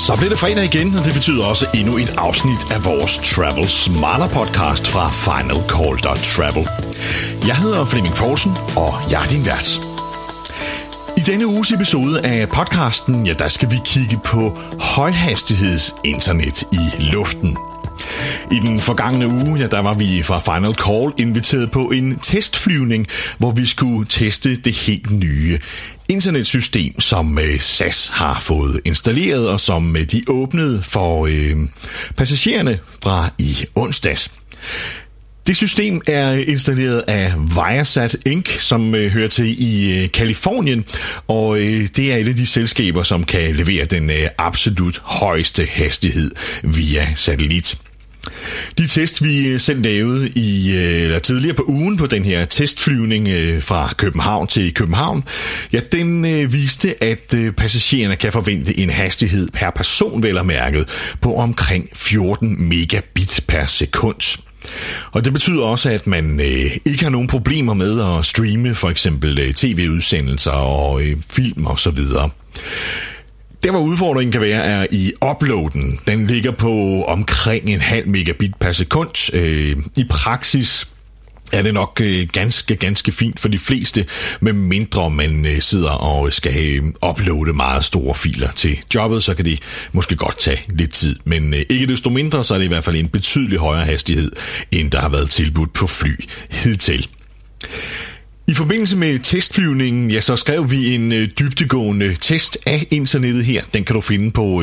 Så bliver det fredag igen, og det betyder også endnu et afsnit af vores Travel Smarter podcast fra finalcall.travel. Jeg hedder Flemming Poulsen, og jeg er din vært. I denne uges episode af podcasten, der skal vi kigge på højhastighedsinternet i luften. I den forgangne uge, der var vi fra Final Call inviteret på en testflyvning, hvor vi skulle teste det helt nye internetsystem, som SAS har fået installeret, og som de åbnede for passagererne fra i onsdags. Det system er installeret af Viasat Inc., som hører til i Californien, og det er et af de selskaber, som kan levere den absolut højeste hastighed via satellit. De test, vi selv lavede tidligere på ugen på den her testflyvning fra København til København, den viste, at passagererne kan forvente en hastighed per person, vel at mærket, på omkring 14 megabit per sekund. Og det betyder også, at man ikke har nogen problemer med at streame for eksempel tv-udsendelser og film og så videre. Der hvor udfordringen kan være, er i uploaden. Den ligger på omkring 0,5 megabit per sekund. I praksis er det nok ganske fint for de fleste, med mindre man sidder og skal uploade meget store filer til jobbet, så kan det måske godt tage lidt tid. Men ikke desto mindre, så er det i hvert fald en betydelig højere hastighed, end der har været tilbudt på fly hidtil. I forbindelse med testflyvningen, så skrev vi en dybdegående test af internettet her. Den kan du finde på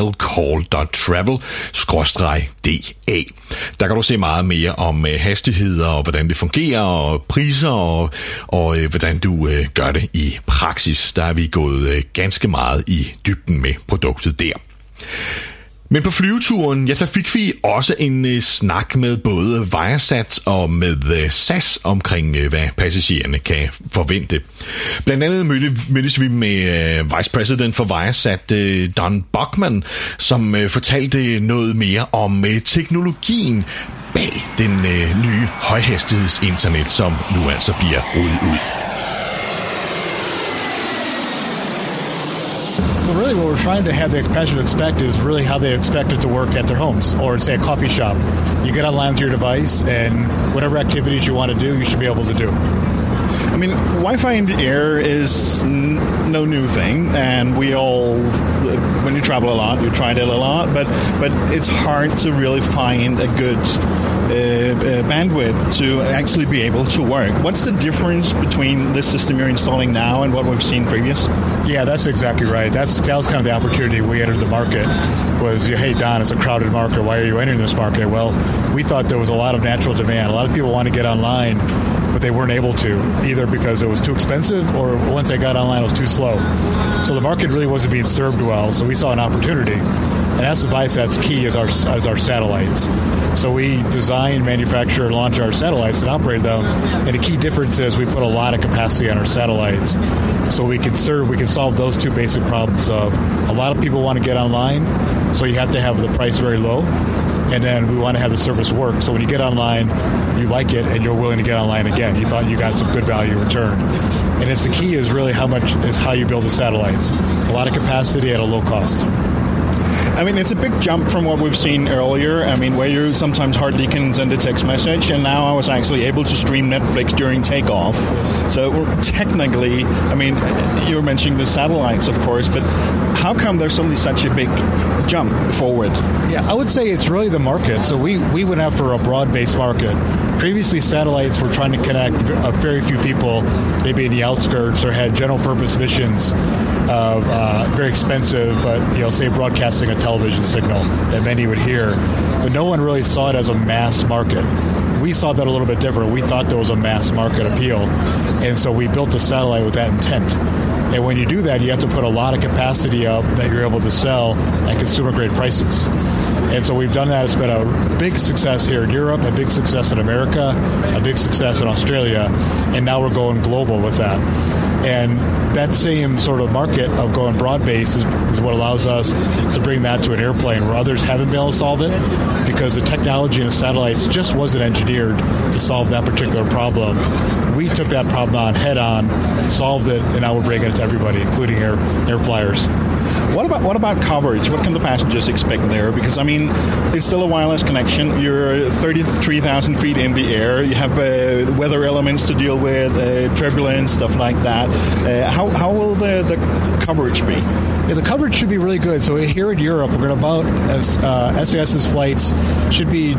finalcall.travel/DA. Der kan du se meget mere om hastigheder og hvordan det fungerer, og priser og hvordan du gør det i praksis. Der er vi gået ganske meget i dybden med produktet der. Men på flyveturen, der fik vi også en snak med både Viasat og med SAS omkring, hvad passagererne kan forvente. Blandt andet mødtes vi med Vice President for Viasat, Don Buckman, som fortalte noget mere om teknologien bag den nye højhastighedsinternet, som nu altså bliver rullet ud. So really what we're trying to have the passenger expect is really how they expect it to work at their homes or say a coffee shop. You get online to your device and whatever activities you want to do, you should be able to do. I mean, Wi-Fi in the air is no new thing, and we all, when you travel a lot, you try it a lot, but it's hard to really find a good bandwidth to actually be able to work. What's the difference between this system you're installing now and what we've seen previous? Yeah, that's exactly right. That was kind of the opportunity we entered the market was, hey, Don, it's a crowded market. Why are you entering this market? Well, we thought there was a lot of natural demand. A lot of people want to get online, but they weren't able to, either because it was too expensive or once they got online, it was too slow. So the market really wasn't being served well, so we saw an opportunity. And that's the Viasat's key is our satellites. So we design, manufacture, and launch our satellites and operate them. And the key difference is we put a lot of capacity on our satellites. So we can solve those two basic problems of a lot of people want to get online, so you have to have the price very low. And then we want to have the service work. So when you get online, you like it and you're willing to get online again. You thought you got some good value in return. And it's the key is really how you build the satellites. A lot of capacity at a low cost. I mean, it's a big jump from what we've seen earlier. I mean, where you sometimes hardly can send a text message, and now I was actually able to stream Netflix during takeoff. So technically, I mean, you were mentioning the satellites, of course, but how come there's suddenly such a big jump forward? Yeah, I would say it's really the market. So we went after a broad-based market. Previously, satellites were trying to connect a very few people, maybe in the outskirts, or had general-purpose missions of very expensive, but say broadcasting a television signal that many would hear. But no one really saw it as a mass market. We saw that a little bit different. We thought there was a mass market appeal, and so we built a satellite with that intent. And when you do that, you have to put a lot of capacity up that you're able to sell at consumer-grade prices. And so we've done that. It's been a big success here in Europe, a big success in America, a big success in Australia, and now we're going global with that. And that same sort of market of going broad-based is what allows us to bring that to an airplane where others haven't been able to solve it because the technology in the satellites just wasn't engineered to solve that particular problem. We took that problem on head-on, solved it, and now we're bringing it to everybody, including air flyers. What about coverage? What can the passengers expect there? Because, I mean, it's still a wireless connection. You're 33,000 feet in the air. You have weather elements to deal with, turbulence, stuff like that. How will the coverage be? Yeah, the coverage should be really good. So here in Europe, we're going to SAS's flights should be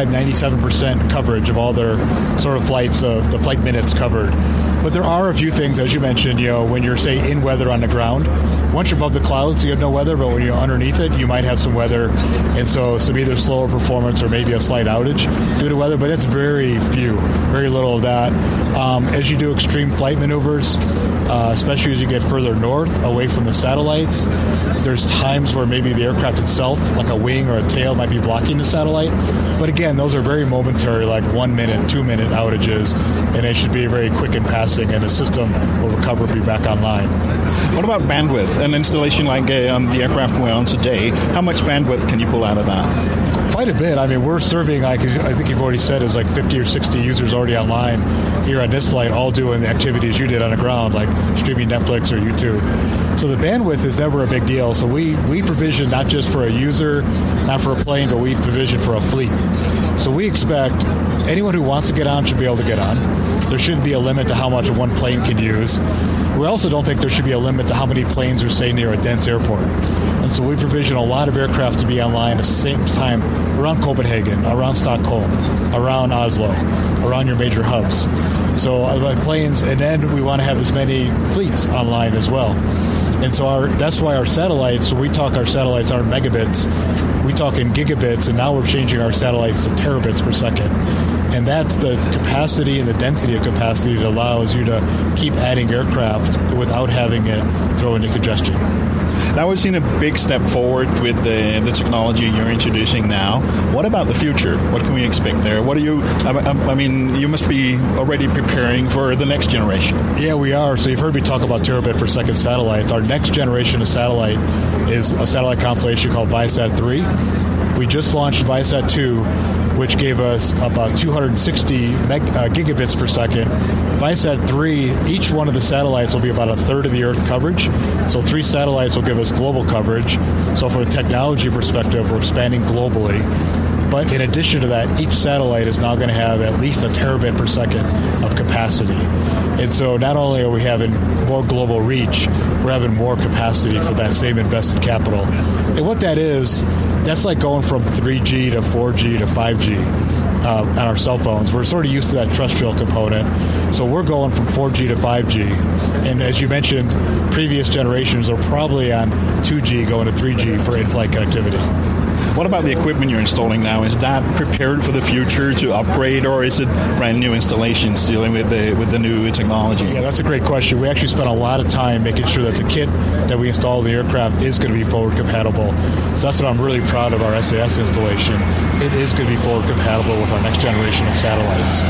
95-97% coverage of all their sort of flights, the flight minutes covered. But there are a few things, as you mentioned, when you're, say, in weather on the ground. Once you're above the clouds, you have no weather, but when you're underneath it, you might have some weather, and so some either slower performance or maybe a slight outage due to weather, but that's very little of that. As you do extreme flight maneuvers, especially as you get further north, away from the satellites, there's times where maybe the aircraft itself, like a wing or a tail, might be blocking the satellite. But again, those are very momentary, like 1 minute, 2 minute outages, and they should be very quick in passing, and the system will recover and be back online. What about bandwidth? An installation like on the aircraft we're on today, how much bandwidth can you pull out of that? Quite a bit. I mean, we're serving, I think you've already said, is like 50 or 60 users already online here on this flight, all doing the activities you did on the ground, like streaming Netflix or YouTube. So the bandwidth is never a big deal. So we provision not just for a user, not for a plane, but we provision for a fleet. So we expect anyone who wants to get on should be able to get on. There shouldn't be a limit to how much one plane can use. We also don't think there should be a limit to how many planes are, say, near a dense airport. And so we provision a lot of aircraft to be online at the same time around Copenhagen, around Stockholm, around Oslo, around your major hubs. So planes, and then we want to have as many fleets online as well. And so that's why our satellites, when we talk our satellites aren't megabits, we talk in gigabits, and now we're changing our satellites to terabits per second. And that's the capacity and the density of capacity that allows you to keep adding aircraft without having it throw into congestion. Now we've seen a big step forward with the technology you're introducing now. What about the future? What can we expect there? What are you? I mean, you must be already preparing for the next generation. Yeah, we are. So you've heard me talk about terabit per second satellites. Our next generation of satellite is a satellite constellation called Viasat 3. We just launched Viasat 2, which gave us about 260 gigabits per second. Viasat 3, each one of the satellites will be about a third of the Earth coverage. So 3 satellites will give us global coverage. So from a technology perspective, we're expanding globally. But in addition to that, each satellite is now going to have at least a terabit per second of capacity. And so not only are we having more global reach, we're having more capacity for that same invested capital. And what that is, that's like going from 3G to 4G to 5G. On our cell phones. We're sort of used to that terrestrial component. So we're going from 4G to 5G. And as you mentioned, previous generations are probably on 2G going to 3G for in-flight connectivity. What about the equipment you're installing now? Is that prepared for the future to upgrade, or is it brand new installations dealing with the new technology? Yeah, that's a great question. We actually spent a lot of time making sure that the kit that we install in the aircraft is going to be forward compatible. So that's what I'm really proud of our SAS installation. It is going to be forward compatible with our next generation of satellites.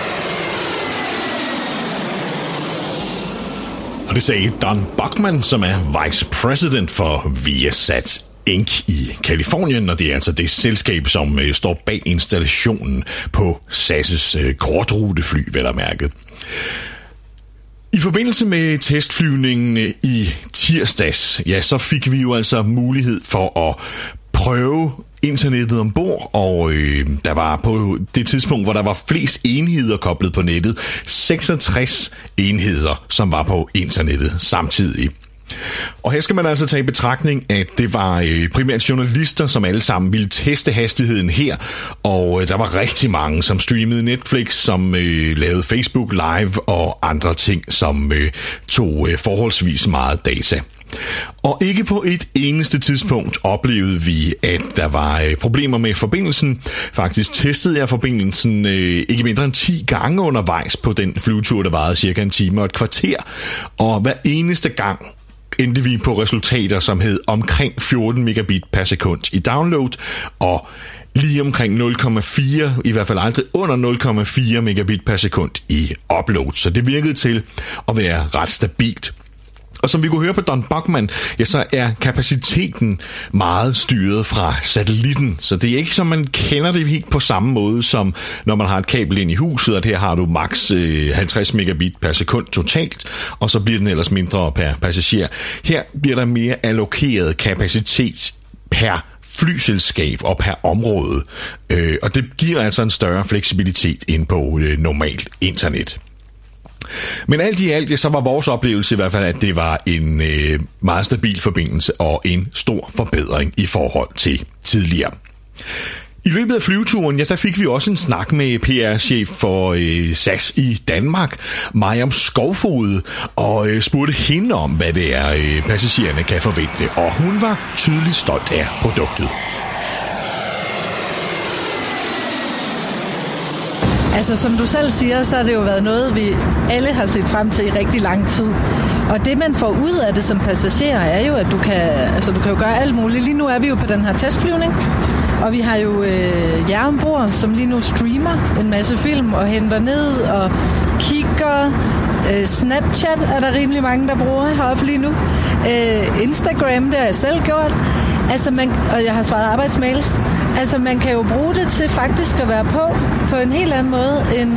Og det sagde Don Buckman, som er Vice President for Viasat Inc. i Kalifornien, og det er altså det selskab, som står bag installationen på SAS' kortrutefly, vel at mærke. I forbindelse med testflyvningen i tirsdags, ja, så fik vi jo altså mulighed for at prøve internettet ombord, og der var på det tidspunkt, hvor der var flest enheder koblet på nettet, 66 enheder, som var på internettet samtidig. Og her skal man altså tage i betragtning, at det var primært journalister, som alle sammen ville teste hastigheden her, og der var rigtig mange, som streamede Netflix, som lavede Facebook Live og andre ting, som tog forholdsvis meget data. Og ikke på et eneste tidspunkt oplevede vi, at der var problemer med forbindelsen. Faktisk testede jeg forbindelsen ikke mindre end 10 gange undervejs på den flyvetur, der varede cirka en time og et kvarter. Og hver eneste gang endte vi på resultater, som hed omkring 14 megabit per sekund i download, og lige omkring 0,4, i hvert fald aldrig under 0,4 megabit per sekund i upload. Så det virkede til at være ret stabilt. Og som vi kunne høre på Don Bachman, ja, så er kapaciteten meget styret fra satellitten. Så det er ikke, som man kender det helt på samme måde, som når man har et kabel ind i huset, at her har du maks 50 megabit per sekund totalt, og så bliver den ellers mindre per passager. Her bliver der mere allokeret kapacitet per flyselskab og per område, og det giver altså en større fleksibilitet end på normalt internet. Men alt i alt, så var vores oplevelse i hvert fald, at det var en meget stabil forbindelse og en stor forbedring i forhold til tidligere. I løbet af flyveturen, ja, der fik vi også en snak med PR-chef for SAS i Danmark, Mariam Skovfod, og spurgte hende om, hvad det er, passagererne kan forvente, og hun var tydeligt stolt af produktet. Altså, som du selv siger, så har det jo været noget, vi alle har set frem til i rigtig lang tid. Og det, man får ud af det som passager, er jo, at du kan jo gøre alt muligt. Lige nu er vi jo på den her testflyvning, og vi har jo jer ombord, som lige nu streamer en masse film og henter ned og kigger. Snapchat er der rimelig mange, der bruger heroppe lige nu. Instagram, det har jeg selv gjort. Altså og jeg har svaret arbejdsmails. Altså man kan jo bruge det til faktisk at være på en helt anden måde, end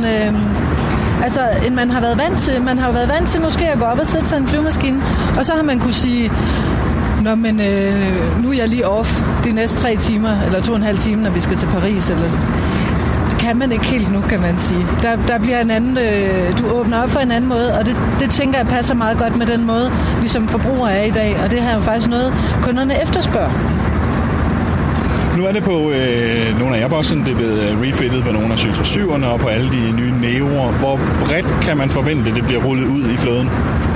man har været vant til. Man har jo været vant til måske at gå op og sætte sig en flyvemaskine, og så har man kunne sige, nå, men nu er jeg lige off de næste 3 timer, eller 2,5 timer, når vi skal til Paris, eller det kan man ikke helt nu, kan man sige. Der bliver en anden, du åbner op for en anden måde, og det tænker jeg passer meget godt med den måde, vi som forbrugere er i dag, og det her er jo faktisk noget, kunderne efterspørger. Nu er det på nogle af Airbus'en, det er blevet refittet på nogle af 737'erne og på alle de nye Neo'er. Hvor bredt kan man forvente, det bliver rullet ud i flåden?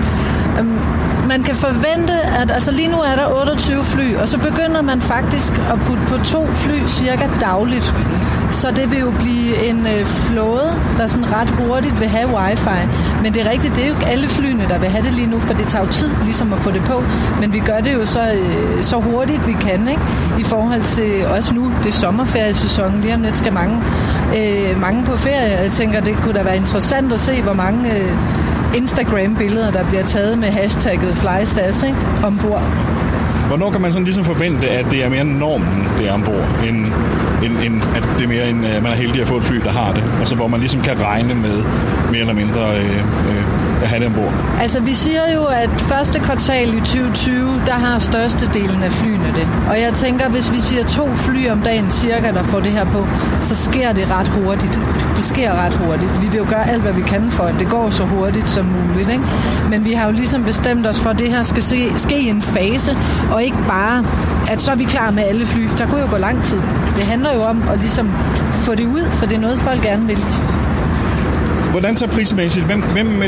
Man kan forvente, at altså lige nu er der 28 fly, og så begynder man faktisk at putte på 2 fly cirka dagligt. Så det vil jo blive en flåde, der sådan ret hurtigt vil have wifi. Men det er rigtigt, det er jo ikke alle flyene, der vil have det lige nu, for det tager jo tid ligesom at få det på. Men vi gør det jo så hurtigt vi kan, ikke? I forhold til også nu, det er sommerferiesæsonen, lige om lidt skal mange på ferie. Jeg tænker, det kunne da være interessant at se, hvor mange Instagram-billeder, der bliver taget med hashtagget FlySAS, ikke? Ombord. Hvornår kan man sådan ligesom forvente, at det er mere normen, det er ombord, end at det er mere en, man er heldig at få et fly, der har det? Altså hvor man ligesom kan regne med mere eller mindre at have det ombord? Altså vi siger jo, at første kvartal i 2020, der har størstedelen af flyene det. Og jeg tænker, hvis vi siger 2 fly om dagen cirka, der får det her på, så sker det ret hurtigt. Det sker ret hurtigt. Vi vil jo gøre alt, hvad vi kan for, at det går så hurtigt som muligt, ikke? Men vi har jo ligesom bestemt os for, at det her skal ske i en fase, og ikke bare, at så er vi klar med alle fly. Der kunne jo gå lang tid. Det handler jo om at ligesom få det ud, for det er noget, folk gerne vil. Hvordan så prismæssigt? Hvem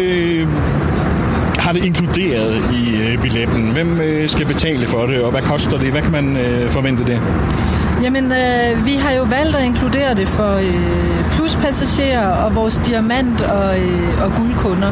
har det inkluderet i billetten? Hvem skal betale for det, og hvad koster det? Hvad kan man forvente det? Jamen, vi har jo valgt at inkludere det for pluspassagerer og vores diamant- og guldkunder.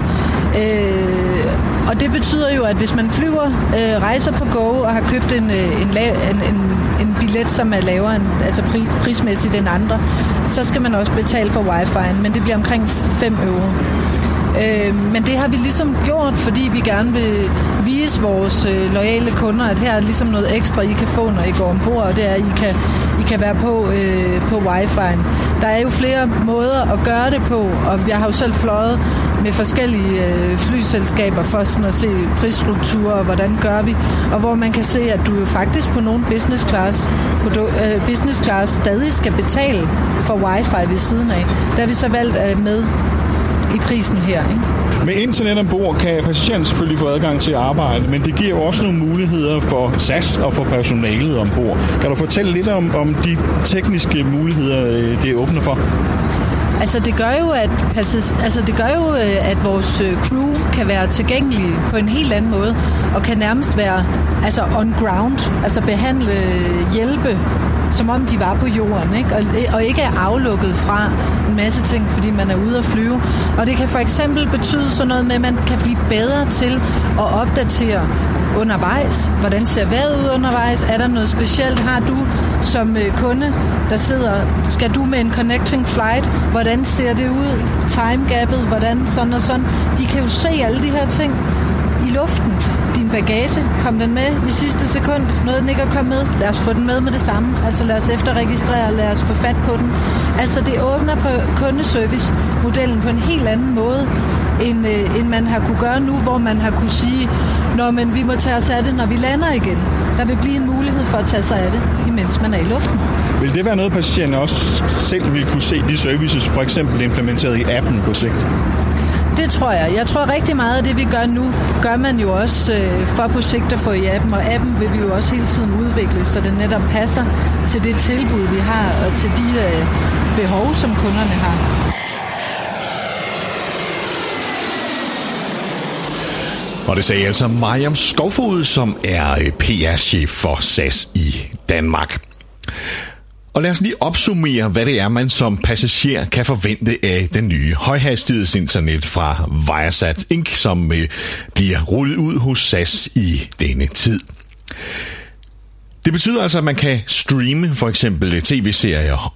Og det betyder jo, at hvis man flyver, rejser på Go og har købt en billet, som er lavere end, altså prismæssigt end andre, så skal man også betale for wifi'en, men det bliver omkring 5 euro. Men det har vi ligesom gjort, fordi vi gerne vil vise vores loyale kunder, at her er ligesom noget ekstra, I kan få, når I går ombord, og det er, at I kan være på wifi'en. Der er jo flere måder at gøre det på, og jeg har jo selv fløjet med forskellige flyselskaber for sådan at se prisstrukturer, og hvordan gør vi, og hvor man kan se, at du jo faktisk på nogle business class stadig skal betale for wifi ved siden af. Der har vi så valgt med i prisen her, ikke? Med internet ombord kan passageren selvfølgelig få adgang til at arbejde, men det giver jo også nogle muligheder for SAS og for personalet ombord. Kan du fortælle lidt om de tekniske muligheder, det åbner for? Altså det gør jo, at vores crew kan være tilgængelige på en helt anden måde, og kan nærmest være on ground, altså hjælpe, som om de var på jorden, ikke? Og ikke er aflukket fra en masse ting, fordi man er ude at flyve. Og det kan for eksempel betyde sådan noget med, at man kan blive bedre til at opdatere undervejs. Hvordan ser vejret ud undervejs? Er der noget specielt? Har du som kunde, der sidder, skal du med en connecting flight? Hvordan ser det ud? Timegapet? Hvordan sådan og sådan? De kan jo se alle de her ting i luften. Din bagage? Kom den med i sidste sekund? Nåede den ikke at komme med? Lad os få den med det samme. Altså lad os efterregistrere, lad os få fat på den. Altså det åbner på kundeservice-modellen på en helt anden måde, end man har kunne gøre nu, hvor man har kunne sige, men vi må tage os af det, når vi lander igen. Der vil blive en mulighed for at tage sig af det, imens man er i luften. Vil det være noget, patienten også selv vil kunne se de services, for eksempel implementeret i appen på sigt? Det tror jeg. Jeg tror rigtig meget af det, vi gør nu, gør man jo også for på sigt at få i appen, og appen vil vi jo også hele tiden udvikle, så det netop passer til det tilbud, vi har, og til de behov, som kunderne har. Og det sagde altså Mariam Skovfod, som er PR-chef for SAS i Danmark. Og lad os lige opsummere, hvad det er, man som passager kan forvente af den nye højhastighedsinternet fra Viasat Inc., som bliver rullet ud hos SAS i denne tid. Det betyder altså, at man kan streame for eksempel tv-serier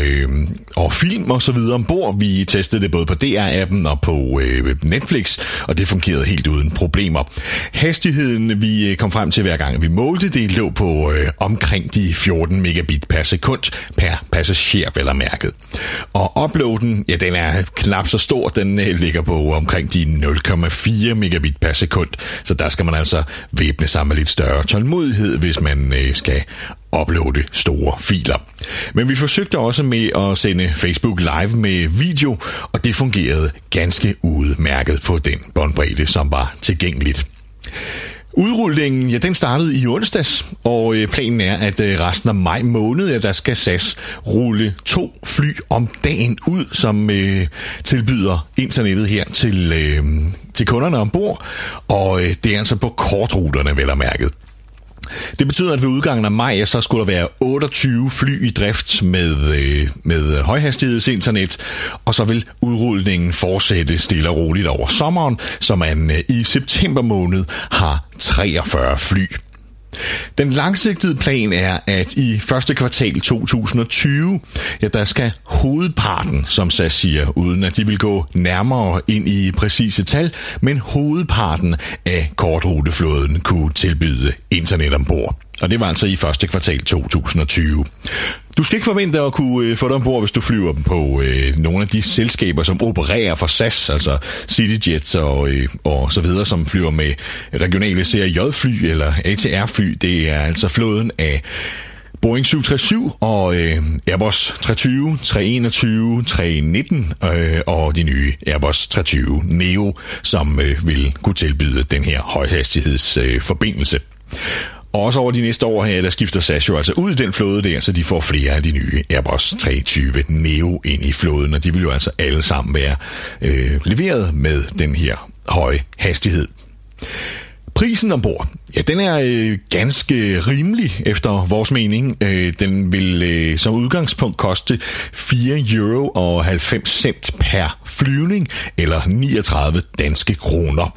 og film og så videre ombord. Vi testede det både på DR-appen og på Netflix, og det fungerede helt uden problemer. Hastigheden, vi kom frem til hver gang vi målte, det lå på omkring de 14 megabit per sekund per passager, vel at mærket. Og uploaden, ja, den er knap så stor. Den ligger på omkring de 0,4 megabit per sekund. Så der skal man altså væbne sig med lidt større tålmodighed, hvis man skal uploade store filer. Men vi forsøgte også med at sende Facebook Live med video, og det fungerede ganske udmærket på den båndbredde, som var tilgængeligt. Udrullingen, ja, den startede i onsdags, og planen er, at resten af maj måned, der skal SAS rulle 2 fly om dagen ud, som tilbyder internettet her til kunderne ombord, og det er altså på kortruterne, vel at mærket. Det betyder, at ved udgangen af maj, så skulle der være 28 fly i drift med højhastighedsinternet, og så vil udrulningen fortsætte stille og roligt over sommeren, så man i september måned har 43 fly. Den langsigtede plan er, at i første kvartal 2020, ja, der skal hovedparten, som SAS siger, uden at de vil gå nærmere ind i præcise tal, men hovedparten af kortruteflåden kunne tilbyde internet ombord. Og det var altså i første kvartal 2020. Du skal ikke forvente at kunne få det ombord, hvis du flyver på nogle af de selskaber, som opererer for SAS, altså CityJet og så videre, som flyver med regionale CRJ-fly eller ATR-fly. Det er altså flåden af Boeing 737 og Airbus 320, 321, 319 og de nye Airbus 320 Neo, som vil kunne tilbyde den her højhastighedsforbindelse. Og også over de næste år her, der skifter SAS jo altså ud i den flåde der, så de får flere af de nye Airbus 320 Neo ind i flåden, og de vil jo altså alle sammen være leveret med den her høje hastighed. Prisen ombord, ja, den er ganske rimelig efter vores mening. Den vil som udgangspunkt koste 4,90 euro per flyvning, eller 39 danske kroner.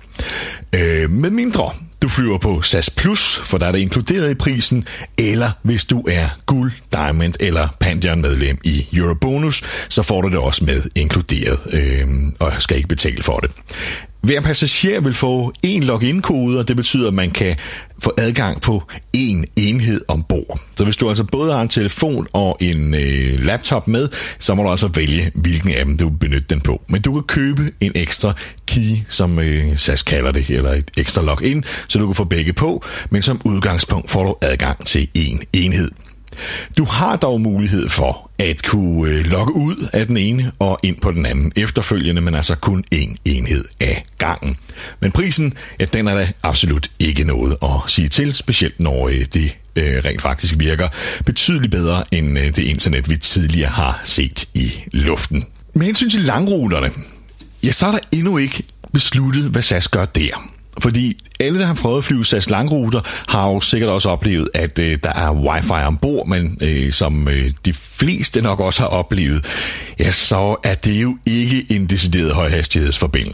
Med mindre du flyver på SAS Plus, for der er det inkluderet i prisen, eller hvis du er Guld, Diamond eller Pantheon medlem i Eurobonus, så får du det også med inkluderet, og skal ikke betale for det. Hver passager vil få en login-kode, og det betyder, at man kan få adgang på en enhed ombord. Så hvis du altså både har en telefon og en laptop med, så må du altså vælge, hvilken af dem du vil benytte den på. Men du kan købe en ekstra key, som SAS kalder det, eller et ekstra login, så du kan få begge på, men som udgangspunkt får du adgang til en enhed. Du har dog mulighed for at kunne logge ud af den ene og ind på den anden efterfølgende, men altså kun én enhed af gangen. Men prisen, ja, den er da absolut ikke noget at sige til, specielt når det rent faktisk virker betydeligt bedre end det internet, vi tidligere har set i luften. Med hensyn til langruterne, ja, så er der endnu ikke besluttet, hvad SAS gør der. Fordi alle, der har prøvet at flyve SAS langruter, har jo sikkert også oplevet, at der er wifi ombord, men som de fleste nok også har oplevet, ja, så er det jo ikke en decideret højhastighedsforbindelse.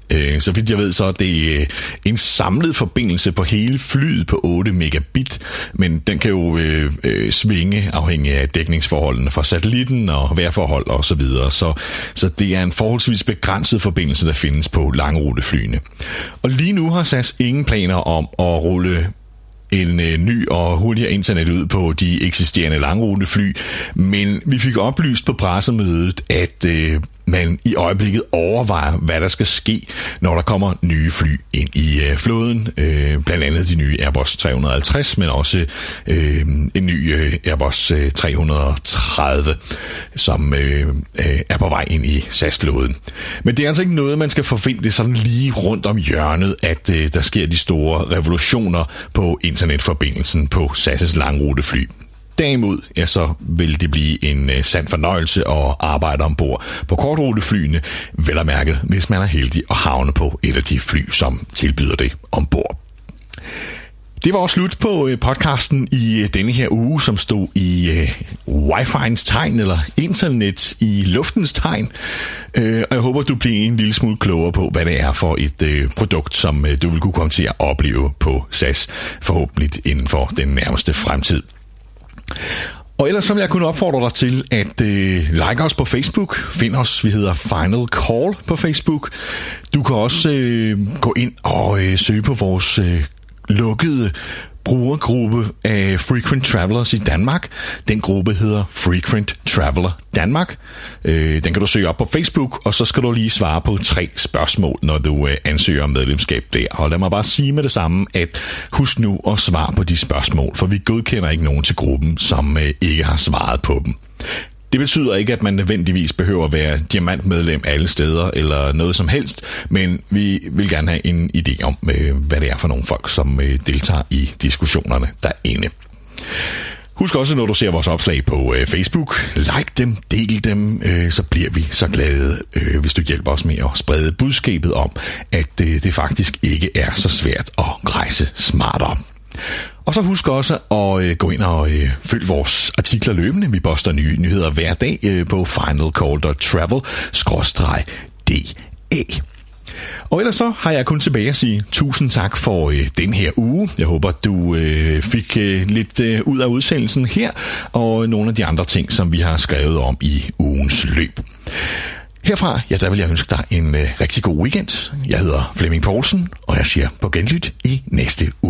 Så vidt jeg ved, så er det en samlet forbindelse på hele flyet på 8 megabit, men den kan jo svinge afhængig af dækningsforholdene fra satellitten og vejrforhold og så videre. Så det er en forholdsvis begrænset forbindelse, der findes på langruteflyene. Og lige nu har SAS ingen planer om at rulle en ny og hurtigere internet ud på de eksisterende langrutefly, men vi fik oplyst på pressemødet, at man i øjeblikket overvejer, hvad der skal ske, når der kommer nye fly ind i flåden. Blandt andet de nye Airbus 350, men også en ny Airbus 330, som er på vej ind i SAS-flåden. Men det er altså ikke noget, man skal forvente sådan lige rundt om hjørnet, at der sker de store revolutioner på internetforbindelsen på SAS' langrutefly. Derimod, ja, så vil det blive en sand fornøjelse at arbejde ombord på kortruteflyene, vel at mærke, hvis man er heldig at havne på et af de fly, som tilbyder det ombord. Det var også slut på podcasten i denne her uge, som stod i Wi-Fi'ens tegn, eller internet i luftens tegn. Og jeg håber, du bliver en lille smule klogere på, hvad det er for et produkt, som du vil kunne komme til at opleve på SAS, forhåbentlig inden for den nærmeste fremtid. Og ellers så vil jeg kunne opfordre dig til at like os på Facebook. Find os, vi hedder Final Call på Facebook. Du kan også gå ind og søge på vores lukkede brugergruppe af Frequent Travelers i Danmark. Den gruppe hedder Frequent Traveler Danmark. Den kan du søge op på Facebook, og så skal du lige svare på 3 spørgsmål, når du ansøger om medlemskab der. Og lad mig bare sige med det samme, at husk nu at svare på de spørgsmål, for vi godkender ikke nogen til gruppen, som ikke har svaret på dem. Det betyder ikke, at man nødvendigvis behøver at være diamantmedlem alle steder eller noget som helst, men vi vil gerne have en idé om, hvad det er for nogle folk, som deltager i diskussionerne derinde. Husk også, når du ser vores opslag på Facebook, like dem, del dem, så bliver vi så glade, hvis du hjælper os med at sprede budskabet om, at det faktisk ikke er så svært at rejse smartere. Og så husk også at gå ind og følge vores artikler løbende. Vi poster nye nyheder hver dag på finalcall.travel/DA. Og ellers så har jeg kun tilbage at sige tusind tak for den her uge. Jeg håber, du fik lidt ud af udsendelsen her, og nogle af de andre ting, som vi har skrevet om i ugens løb. Herfra, ja, der vil jeg ønske dig en rigtig god weekend. Jeg hedder Flemming Poulsen, og jeg siger på genlyt i næste uge.